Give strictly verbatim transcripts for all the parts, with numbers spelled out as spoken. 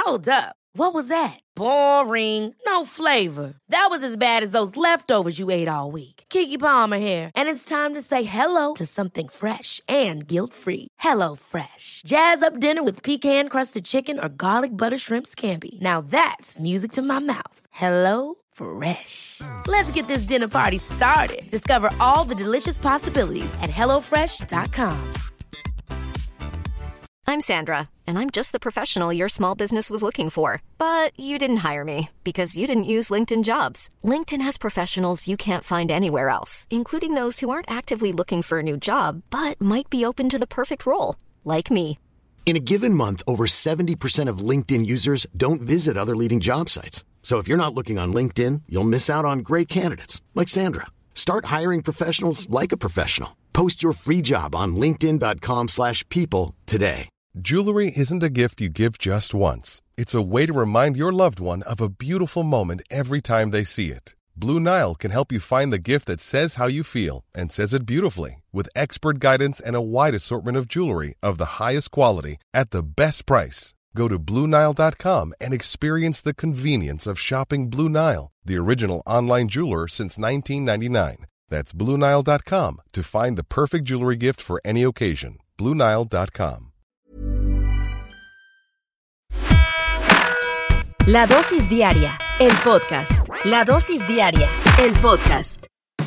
Hold up. What was that? Boring. No flavor. That was as bad as those leftovers you ate all week. Keke Palmer here, and it's time to say hello to something fresh and guilt-free. Hello Fresh. Jazz up dinner with pecan-crusted chicken or garlic butter shrimp scampi. Now that's music to my mouth. Hello Fresh. Let's get this dinner party started. Discover all the delicious possibilities at hello fresh dot com. I'm Sandra, and I'm just the professional your small business was looking for. But you didn't hire me because you didn't use LinkedIn Jobs. LinkedIn has professionals you can't find anywhere else, including those who aren't actively looking for a new job, but might be open to the perfect role, like me. In a given month, over seventy percent of LinkedIn users don't visit other leading job sites. So if you're not looking on LinkedIn, you'll miss out on great candidates like Sandra. Start hiring professionals like a professional. Post your free job on linkedin dot com slash people today. Jewelry isn't a gift you give just once. It's a way to remind your loved one of a beautiful moment every time they see it. Blue Nile can help you find the gift that says how you feel and says it beautifully, with expert guidance and a wide assortment of jewelry of the highest quality at the best price. Go to blue nile dot com and experience the convenience of shopping Blue Nile, the original online jeweler since nineteen ninety-nine. That's blue nile dot com to find the perfect jewelry gift for any occasion. blue nile dot com. La Dosis Diaria, el podcast. La Dosis Diaria, el podcast.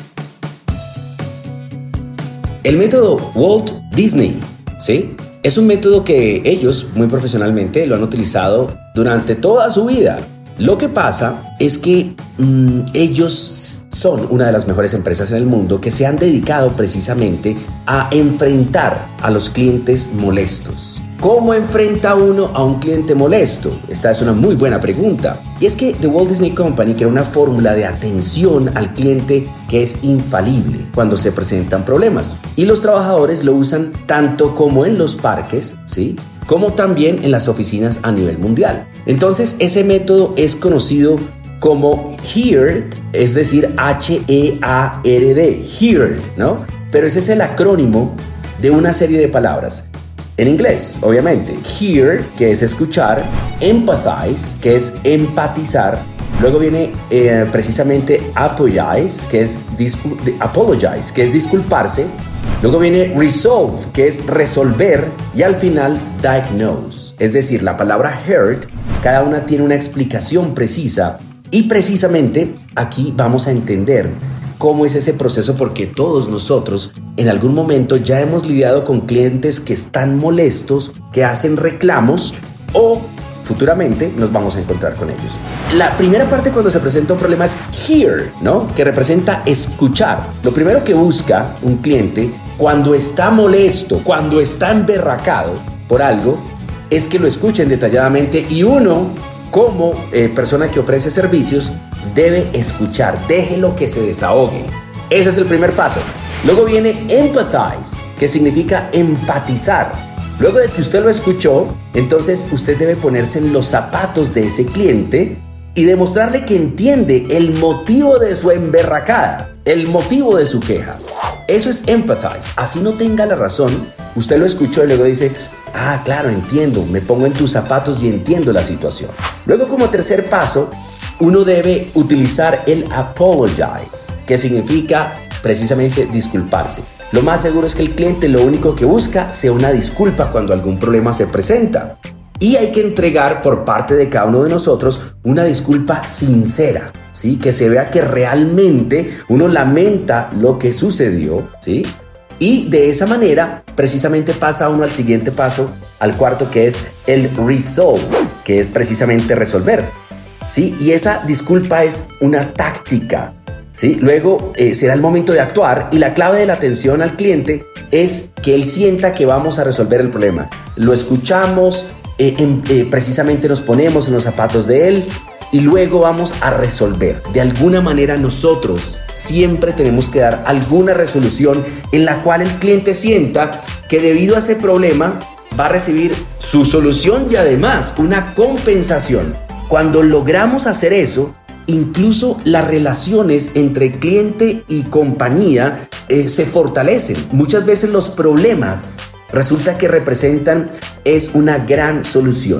El método Walt Disney, ¿sí? Es un método que ellos, muy profesionalmente, lo han utilizado durante toda su vida. Lo que pasa es que mmm, ellos son una de las mejores empresas en el mundo que se han dedicado precisamente a enfrentar a los clientes molestos. ¿Cómo enfrenta uno a un cliente molesto? Esta es una muy buena pregunta. Y es que The Walt Disney Company crea una fórmula de atención al cliente que es infalible cuando se presentan problemas. Y los trabajadores lo usan tanto como en los parques, ¿sí?, como también en las oficinas a nivel mundial. Entonces, ese método es conocido como HEARD, es decir, H E A R D, HEARD, ¿no? Pero ese es el acrónimo de una serie de palabras. En inglés, obviamente, hear, que es escuchar, empathize, que es empatizar, luego viene eh, precisamente apologize, que es discul- apologize, que es disculparse, luego viene resolve, que es resolver, y al final diagnose, es decir, la palabra heard, cada una tiene una explicación precisa, y precisamente aquí vamos a entender cómo es ese proceso, porque todos nosotros en algún momento ya hemos lidiado con clientes que están molestos, que hacen reclamos o futuramente nos vamos a encontrar con ellos. La primera parte cuando se presenta un problema es hear, ¿no? Que representa escuchar. Lo primero que busca un cliente cuando está molesto, cuando está emberracado por algo, es que lo escuchen detalladamente, y uno, como eh, persona que ofrece servicios, debe escuchar, déjelo que se desahogue. Ese es el primer paso. Luego viene empathize, que significa empatizar. Luego de que usted lo escuchó, entonces usted debe ponerse en los zapatos de ese cliente y demostrarle que entiende el motivo de su emberracada, el motivo de su queja. Eso es empathize. Así no tenga la razón, usted lo escuchó y luego dice: ah, claro, entiendo, me pongo en tus zapatos y entiendo la situación. Luego, como tercer paso, uno debe utilizar el apologize, que significa precisamente disculparse. Lo más seguro es que el cliente lo único que busca sea una disculpa cuando algún problema se presenta. Y hay que entregar por parte de cada uno de nosotros una disculpa sincera, ¿sí? Que se vea que realmente uno lamenta lo que sucedió, ¿sí? Y de esa manera, precisamente pasa uno al siguiente paso, al cuarto, que es el resolve, que es precisamente resolver, ¿sí? Y esa disculpa es una táctica, ¿sí? Luego eh, será el momento de actuar, y la clave de la atención al cliente es que él sienta que vamos a resolver el problema. Lo escuchamos, eh, eh, eh, precisamente nos ponemos en los zapatos de él, y luego vamos a resolver. De alguna manera nosotros siempre tenemos que dar alguna resolución en la cual el cliente sienta que debido a ese problema va a recibir su solución y además una compensación. Cuando logramos hacer eso, incluso las relaciones entre cliente y compañía eh, se fortalecen. Muchas veces los problemas resulta que representan es una gran solución.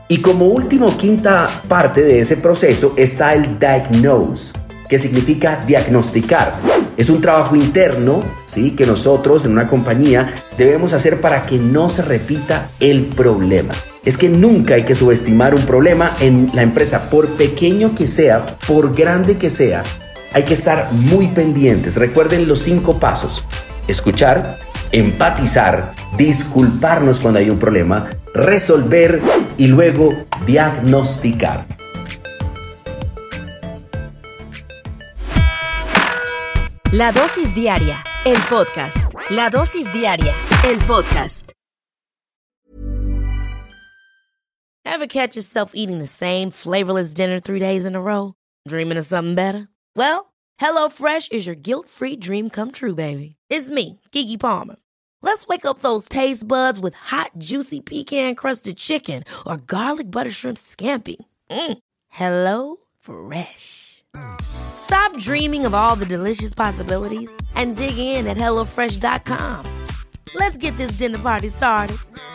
Y como último, quinta parte de ese proceso está el diagnose, que significa diagnosticar. Es un trabajo interno, ¿sí?, que nosotros en una compañía debemos hacer para que no se repita el problema. Es que nunca hay que subestimar un problema en la empresa, por pequeño que sea, por grande que sea. Hay que estar muy pendientes. Recuerden los cinco pasos: escuchar, empatizar, disculparnos cuando hay un problema, resolver y luego diagnosticar. La dosis diaria, el podcast. La dosis diaria, el podcast. Ever catch yourself eating the same flavorless dinner three days in a row? Dreaming of something better? Well, HelloFresh is your guilt-free dream come true, baby. It's me, Keke Palmer. Let's wake up those taste buds with hot, juicy pecan-crusted chicken or garlic butter shrimp scampi. Mm. Hello Fresh. Stop dreaming of all the delicious possibilities and dig in at hello fresh dot com. Let's get this dinner party started.